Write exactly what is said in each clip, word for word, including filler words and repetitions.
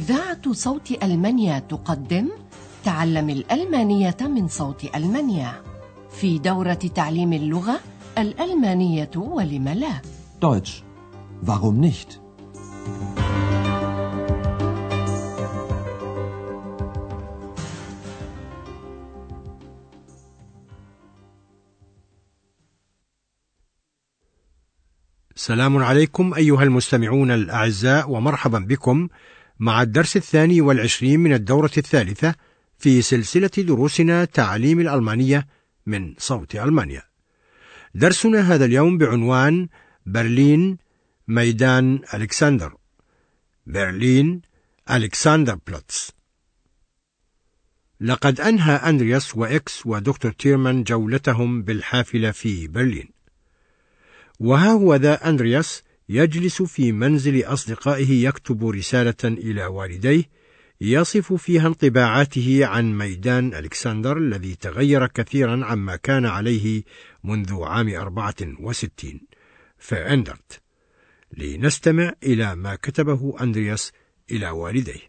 إذاعة صوت ألمانيا تقدم تعلم الألمانية من صوت ألمانيا في دورة تعليم اللغة الألمانية ولم لا. Deutsch. Warum nicht? السلام عليكم أيها المستمعون الأعزاء، ومرحبا بكم مع الدرس الثاني والعشرين من الدورة الثالثة في سلسلة دروسنا تعليم الألمانية من صوت ألمانيا. درسنا هذا اليوم بعنوان برلين ميدان ألكسندر. برلين ألكسندر بلاتس. لقد أنهى أندرياس وإكس ودكتور تيرمان جولتهم بالحافلة في برلين، وها هو ذا أندرياس يجلس في منزل أصدقائه يكتب رسالة إلى والديه يصف فيها انطباعاته عن ميدان ألكسندر الذي تغير كثيرا عما كان عليه منذ عام أربعة وستين فأندرت. لنستمع إلى ما كتبه أندرياس إلى والديه.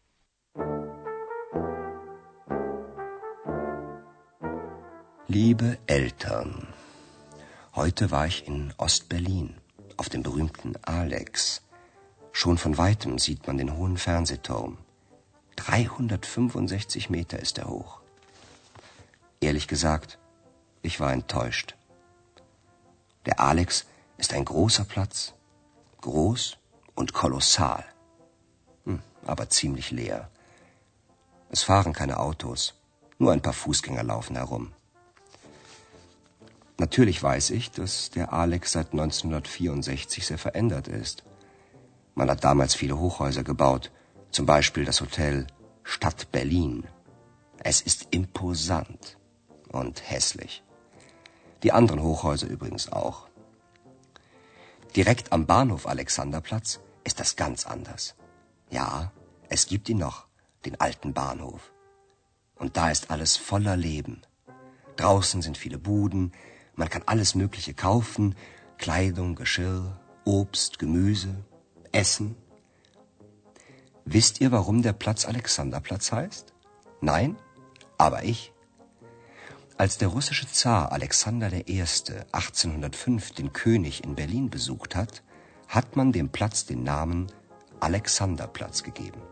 Liebe Eltern, heute war ich in Ostberlin, auf dem berühmten Alex. Schon von weitem sieht man den hohen Fernsehturm. dreihundertfünfundsechzig Meter ist er hoch. Ehrlich gesagt, ich war enttäuscht. Der Alex ist ein großer Platz. Groß und kolossal. Hm, aber ziemlich leer. Es fahren keine Autos. Nur ein paar Fußgänger laufen herum. Natürlich weiß ich, dass der Alex seit neunzehnhundertvierundsechzig sehr verändert ist. Man hat damals viele Hochhäuser gebaut, zum Beispiel das Hotel Stadt Berlin. Es ist imposant und hässlich. Die anderen Hochhäuser übrigens auch. Direkt am Bahnhof Alexanderplatz ist das ganz anders. Ja, es gibt ihn noch, den alten Bahnhof. Und da ist alles voller Leben. Draußen sind viele Buden. Man kann alles Mögliche kaufen, Kleidung, Geschirr, Obst, Gemüse, Essen. Wisst ihr, warum der Platz Alexanderplatz heißt? Nein? Aber ich. Als der russische Zar Alexander der Erste achtzehnhundertfünf den König in Berlin besucht hat, hat man dem Platz den Namen Alexanderplatz gegeben.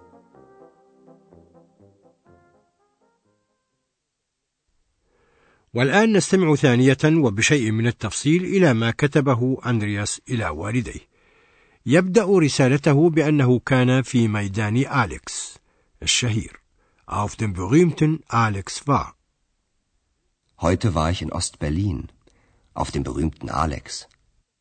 والآن نستمع ثانية وبشيء من التفصيل إلى ما كتبه أندرياس إلى والديه. يبدأ رسالته بأنه كان في ميدان أليكس الشهير auf dem berühmten Alex war. Heute war ich in Ostberlin, auf dem berühmten Alex.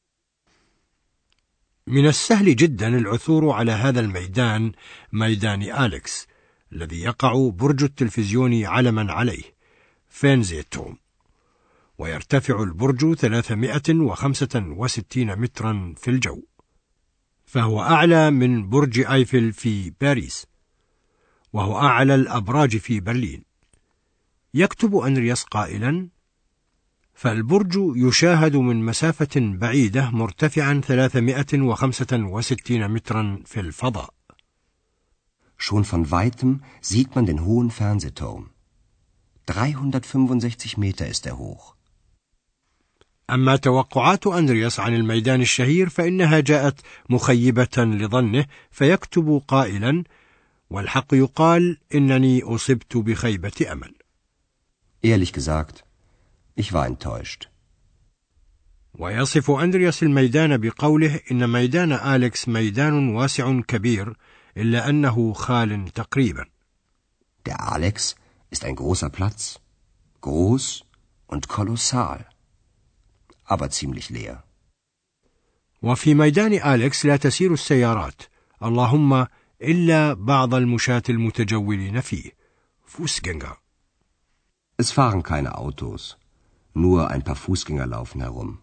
من السهل جدا العثور على هذا الميدان، ميدان أليكس، الذي يقع برج التلفزيون علما عليه فيرنزيتورم، ويرتفع البرج ثلاثمائة وخمسة وستين مترا في الجو، فهو أعلى من برج أيفل في باريس، وهو أعلى الأبراج في برلين. يكتب أندرياس قائلا: فالبرج يشاهد من مسافة بعيدة مرتفعا ثلاثمائة وخمسة وستين مترا في الفضاء. Schon von weitem sieht man den hohen Fernsehturm. dreihundertfünfundsechzig Meter ist er hoch. أما توقعات أندرياس عن الميدان الشهير فإنها جاءت مخيبة لظنه، فيكتب قائلا: والحق يقال إنني أصبت بخيبة أمل. Ehrlich gesagt, ich war enttäuscht. ويصف أندرياس الميدان بقوله: إن ميدان أليكس ميدان واسع كبير إلا أنه خال تقريبا. Der Alex ist ein großer Platz, groß und kolossal, aber ziemlich leer. وفي ميدان أليكس لا تسير السيارات، اللهم إلا بعض المشاة المتجولين فيه، Fußgänger. Es fahren keine Autos, nur ein paar Fußgänger laufen herum.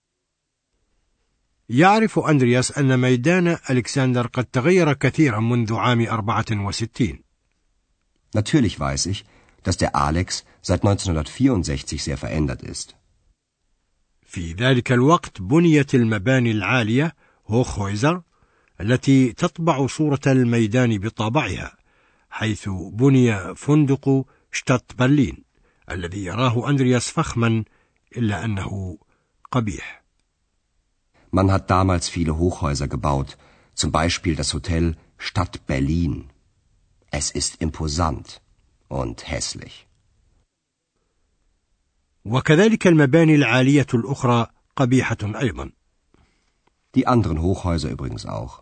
يعرف أندرياس أن ميدان ألكسندر قد تغير كثيرا منذ عام أربعة وستين. Natürlich weiß ich, dass der Alex seit neunzehnhundertvierundsechzig sehr verändert ist. في ذلك الوقت بنيت المباني العالية هوخهويزر التي تطبع صورة الميدان بطابعها، حيث بني فندق شتات برلين الذي يراه أندرياس فخما إلا أنه قبيح. Man hat damals viele Hochhäuser gebaut, zum Beispiel das Hotel Stadt Berlin. Es ist imposant und hässlich. وكذلك المباني العالية الأخرى قبيحة أيضا. Die anderen Hochhäuser übrigens auch.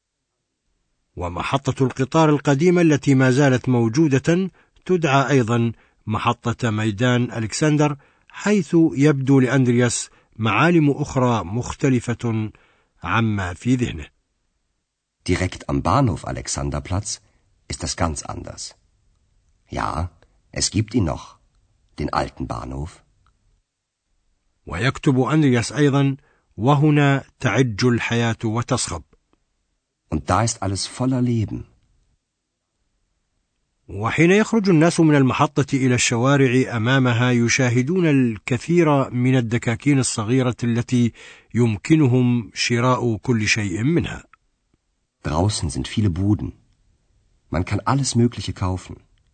ومحطة القطار القديمة التي ما زالت موجودة تدعى أيضا محطة ميدان ألكسندر، حيث يبدو لأندرياس معالم أخرى مختلفة عما في ذهنه. Direkt am Bahnhof Alexanderplatz ist das ganz anders. Ja, es gibt ihn noch, den alten Bahnhof. ويكتب أندرياس أيضا: وهنا تعج الحياة وتصخب. Und da ist alles voller Leben. وحين يخرج الناس من المحطة إلى الشوارع أمامها يشاهدون الكثير من الدكاكين الصغيرة التي يمكنهم شراء كل شيء منها. Draußen sind viele Buden. Man kann alles Mögliche kaufen.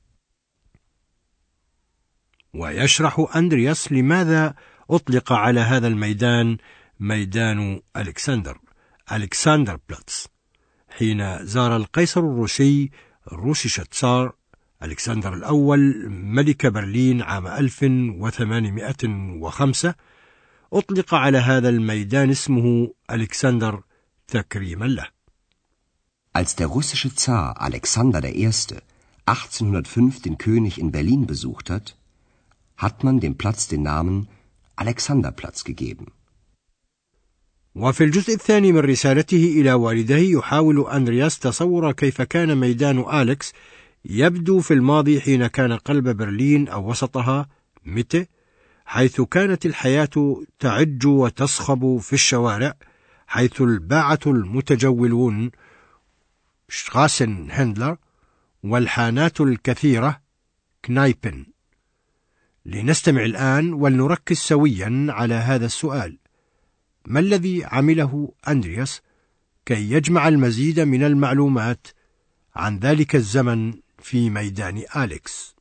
ويشرح أندرياس لماذا أطلق على هذا الميدان ميدان ألكسندر، ألكسندر بلاتس، حين زار القيصر الروسي روسيش تسار ألكسندر الأول ملك برلين عام ألف وثمانمائة وخمسة، أطلق على هذا الميدان اسمه ألكسندر تكريما له. Als der russische Zar Alexander der Erste achtzehnhundertfünf den König in Berlin besucht hat, hat man dem Platz den Namen Alexanderplatz gegeben. وفي الجزء الثاني من رسالته إلى والده يحاول أندرياس تصور كيف كان ميدان أليكس يبدو في الماضي حين كان قلب برلين أو وسطها ميته، حيث كانت الحياة تعج وتصخب في الشوارع، حيث الباعة المتجولون شغاسن هندلر والحانات الكثيرة كنايبن. لنستمع الآن ولنركز سويا على هذا السؤال: ما الذي عمله أندرياس كي يجمع المزيد من المعلومات عن ذلك الزمن في ميدان أليكس؟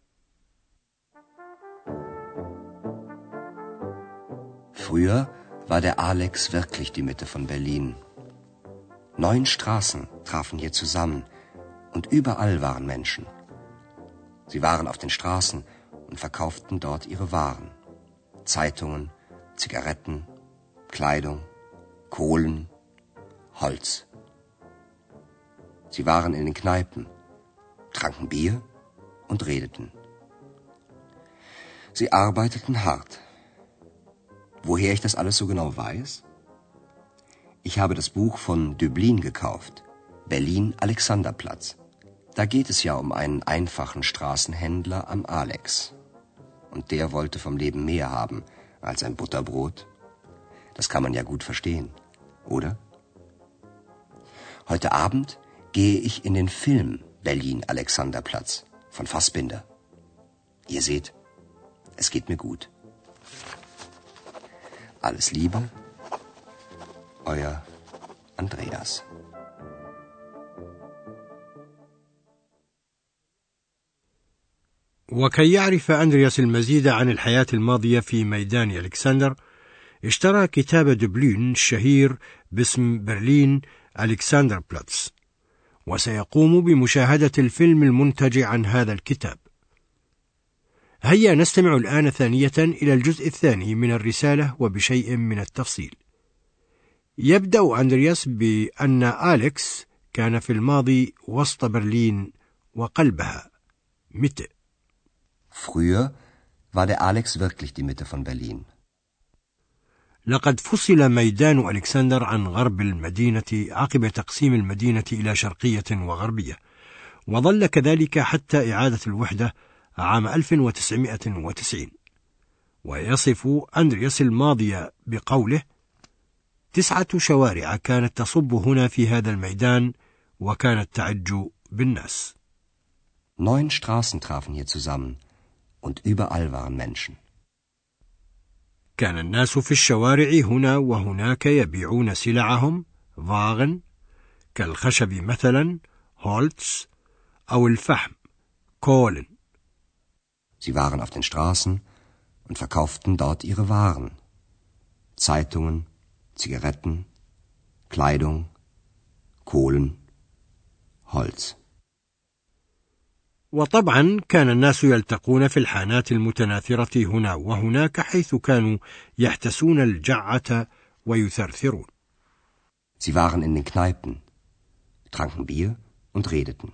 Früher war der Alex wirklich die Mitte von Berlin. Neun Straßen trafen hier zusammen und überall waren Menschen. Sie waren auf den Straßen und verkauften dort ihre Waren. Zeitungen, Zigaretten, Kleidung, Kohlen, Holz. Sie waren in den Kneipen, tranken Bier und redeten. Sie arbeiteten hart. Woher ich das alles so genau weiß? Ich habe das Buch von Döblin gekauft, Berlin Alexanderplatz. Da geht es ja um einen einfachen Straßenhändler am Alex. Und der wollte vom Leben mehr haben als ein Butterbrot. Das kann man ja gut verstehen, oder? Heute Abend gehe ich in den Film Berlin Alexanderplatz von Fassbinder. Ihr seht, es geht mir gut. Alles Liebe, euer Andreas. وكي يعرف أندرياس المزيد عن الحياة الماضية في ميدان ألكسندر، اشترى كتاب دبلين الشهير باسم برلين ألكسندر بلاتس، وسيقوم بمشاهدة الفيلم المنتج عن هذا الكتاب. هيا نستمع الآن ثانية إلى الجزء الثاني من الرسالة وبشيء من التفصيل. يبدأ أندرياس بأن أليكس كان في الماضي وسط برلين وقلبها ميته. Früher war der Alex wirklich die Mitte von Berlin. لقد فصل ميدان ألكسندر عن غرب المدينة عقب تقسيم المدينة إلى شرقية وغربية، وظل كذلك حتى إعادة الوحدة عام ألف وتسعمائة وتسعين. ويصف أندرياس الماضي بقوله: تسعة شوارع كانت تصب هنا في هذا الميدان وكانت تعج بالناس. Neun Straßen trafen hier zusammen und überall waren Menschen. كان الناس في الشوارع هنا وهناك يبيعون سلعهم، واغن، كالخشب مثلا Holz أو الفحم Kohlen. Sie waren auf den Straßen und verkauften dort ihre Waren. Zeitungen, Zigaretten, Kleidung, Kohlen, Holz. وطبعا كان الناس يلتقون في الحانات المتناثرة هنا وهناك حيث كانوا يحتسون الجعة ويثرثرون. Sie waren in den Kneipen, tranken Bier und redeten.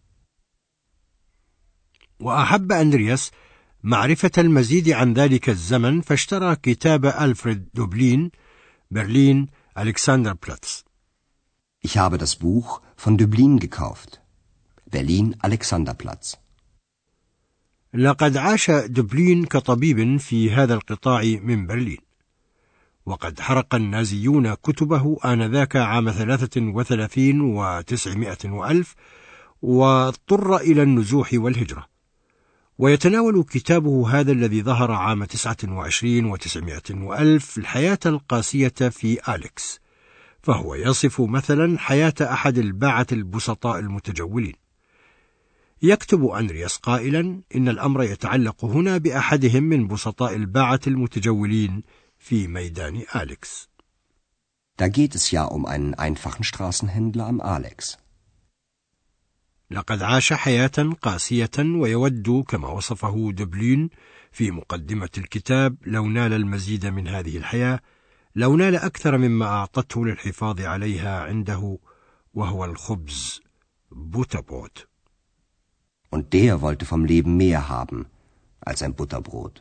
وأحب أندرياس معرفة المزيد عن ذلك الزمن فاشترى كتاب ألفريد دوبلين برلين Alexanderplatz. Ich habe das Buch von Döblin gekauft. Berlin Alexanderplatz. لقد عاش دوبلين كطبيب في هذا القطاع من برلين، وقد حرق النازيون كتبه آنذاك عام ثلاثة وثلاثين وتسعمائة وألف، واضطر إلى النزوح والهجرة. ويتناول كتابه هذا الذي ظهر عام تسعة وعشرين وتسعمائة وألف الحياة القاسية في أليكس، فهو يصف مثلا حياة أحد الباعة البسطاء المتجولين. يكتب أندرياس قائلا إن الأمر يتعلق هنا بأحدهم من بسطاء الباعة المتجولين في ميدان أليكس. Da geht es ja um einen einfachen Straßenhändler am Alex. لقد عاش حياة قاسية ويود كما وصفه دوبلين في مقدمة الكتاب لو نال المزيد من هذه الحياة، لو نال أكثر مما أعطته للحفاظ عليها عنده، وهو الخبز بوتربروت. Und der wollte vom Leben mehr haben als ein Butterbrot.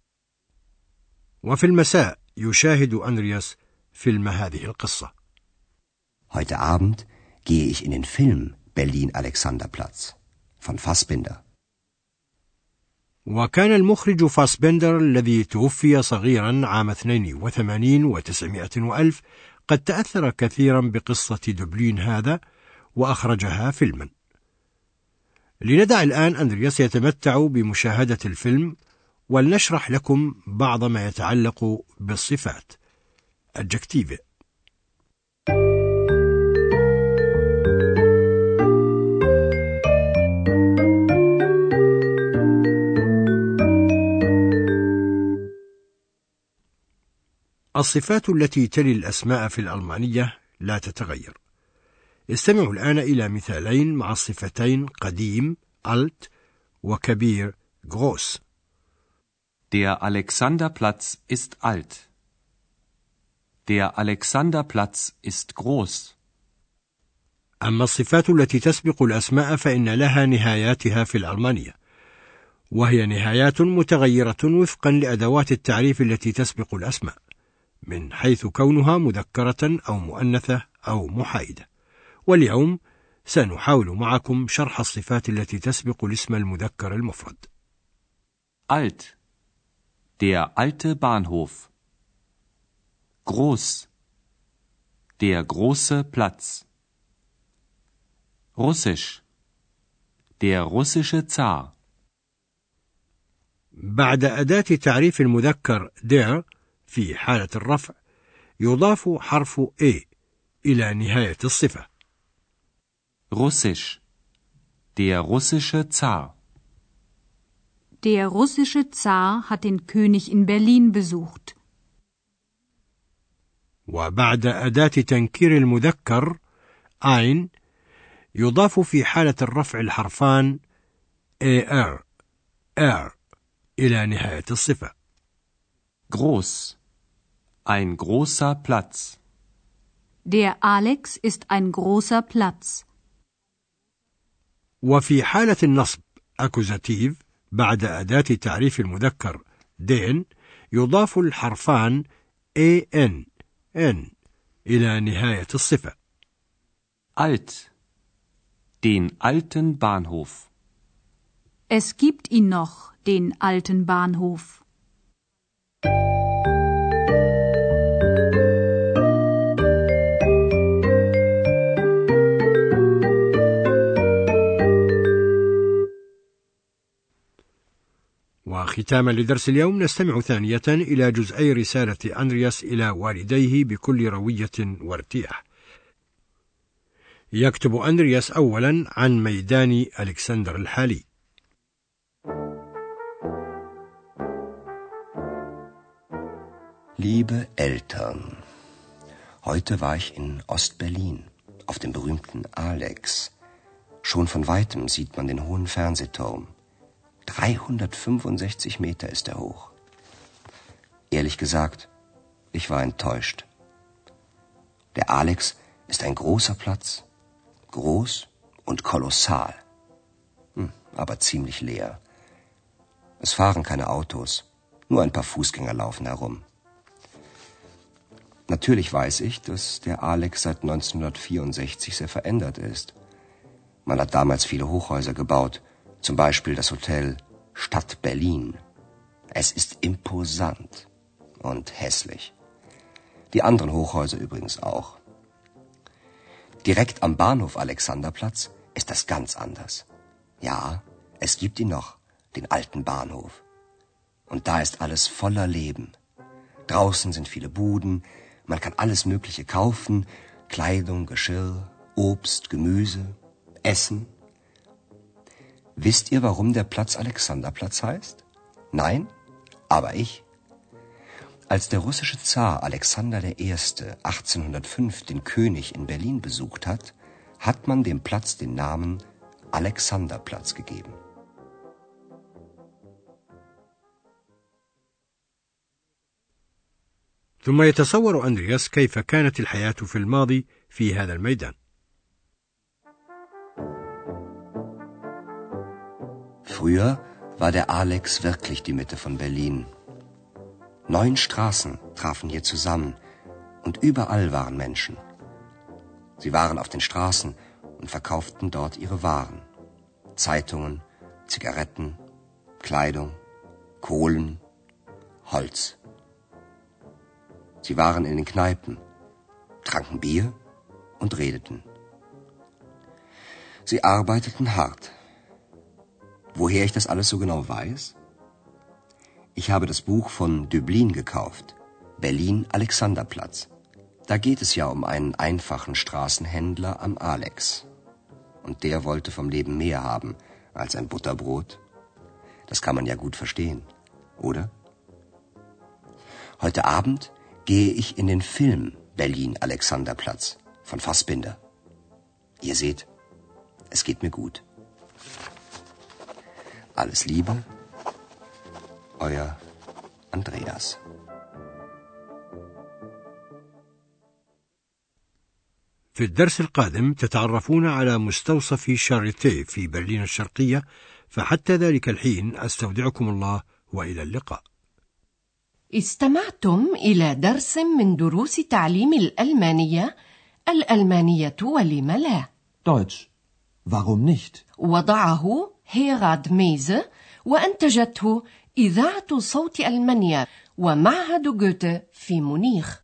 وفي المساء يشاهد أندرياس فيلم هذه القصة. Heute Abend gehe ich in den Film Berlin Alexanderplatz von Fassbinder. وكان المخرج فاسبندر الذي توفي صغيرا عام اثنين وثمانين وتسعمائة وألف قد تأثر كثيرا بقصة دوبلين هذا وأخرجها فيلما. لندع الآن أندرياس يتمتع بمشاهدة الفيلم، ولنشرح لكم بعض ما يتعلق بالصفات adjective. الصفات التي تلي الأسماء في الألمانية لا تتغير. استمعوا الآن إلى مثالين مع الصفتين قديم alt وكبير groß. Der Alexanderplatz ist alt. Der Alexanderplatz ist groß. أما الصفات التي تسبق الأسماء فإن لها نهاياتها في الألمانية، وهي نهايات متغيرة وفقا لأدوات التعريف التي تسبق الأسماء، من حيث كونها مذكرة أو مؤنثة أو محايدة. واليوم سنحاول معكم شرح الصفات التي تسبق الاسم المذكر المفرد. Alt. Der alte Bahnhof. Groß. Der große Platz. Russisch. Der russische Zar. بعد أداة تعريف المذكر der في حالة الرفع يضاف حرف A إلى نهاية الصفة. Russisch. Der russische Zar. Der russische Zar hat den König in Berlin besucht. وبعد أداة تنكير المذكر ein يضاف في حالة الرفع الحرفان er er إلى نهاية الصفة. Groß. Ein großer Platz. Der Alex ist ein großer Platz. وفي حالة النصب أكوزاتيف بعد أداة تعريف المذكر den يضاف الحرفان an n إلى نهاية الصفة. Alt. Den alten Bahnhof. Es gibt ihn noch, den alten Bahnhof. وختاما لدرس اليوم نستمع ثانية إلى جزئي رسالة أندرياس إلى والديه بكل روية وارتياح. يكتب أندرياس أولا عن ميدان ألكسندر الحالي. Liebe Eltern, heute war ich in Ostberlin, auf dem berühmten Alex. Schon von weitem sieht man den hohen Fernsehturm. dreihundertfünfundsechzig Meter ist er hoch. Ehrlich gesagt, ich war enttäuscht. Der Alex ist ein großer Platz, groß und kolossal, hm, aber ziemlich leer. Es fahren keine Autos, nur ein paar Fußgänger laufen herum. Natürlich weiß ich, dass der Alex seit neunzehnhundertvierundsechzig sehr verändert ist. Man hat damals viele Hochhäuser gebaut, zum Beispiel das Hotel Stadt Berlin. Es ist imposant und hässlich. Die anderen Hochhäuser übrigens auch. Direkt am Bahnhof Alexanderplatz ist das ganz anders. Ja, es gibt ihn noch, den alten Bahnhof. Und da ist alles voller Leben. Draußen sind viele Buden, man kann alles Mögliche kaufen, Kleidung, Geschirr, Obst, Gemüse, Essen. Wisst ihr, warum der Platz Alexanderplatz heißt? Nein? Aber ich. Als der russische Zar Alexander der Erste achtzehnhundertfünf den König in Berlin besucht hat, hat man dem Platz den Namen Alexanderplatz gegeben. ثم يتصور أندرياس كيف كانت الحياة في الماضي في هذا الميدان. Früher war der Alex wirklich die Mitte von Berlin. Neun Straßen trafen hier zusammen und überall waren Menschen. Sie waren auf den Straßen und verkauften dort ihre Waren. Zeitungen, Zigaretten, Kleidung, Kohlen, Holz. Sie waren in den Kneipen, tranken Bier und redeten. Sie arbeiteten hart. Woher ich das alles so genau weiß? Ich habe das Buch von Döblin gekauft, Berlin Alexanderplatz. Da geht es ja um einen einfachen Straßenhändler am Alex. Und der wollte vom Leben mehr haben als ein Butterbrot. Das kann man ja gut verstehen, oder? Heute Abend gehe ich in den Film Berlin Alexanderplatz von Fassbinder. Ihr seht, es geht mir gut. Alles Liebe, euer Andreas. في الدرس القادم تتعرفون على مستوصف شاريتيه في برلين الشرقية، فحتى ذلك الحين أستودعكم الله وإلى اللقاء. استمعتم إلى درس من دروس تعليم الألمانية، الألمانية ولم لا. Deutsch. Warum nicht? وضعه هيراد ميزه وأنتجته إذاعة صوت ألمانيا ومعهد جوته في مونيخ.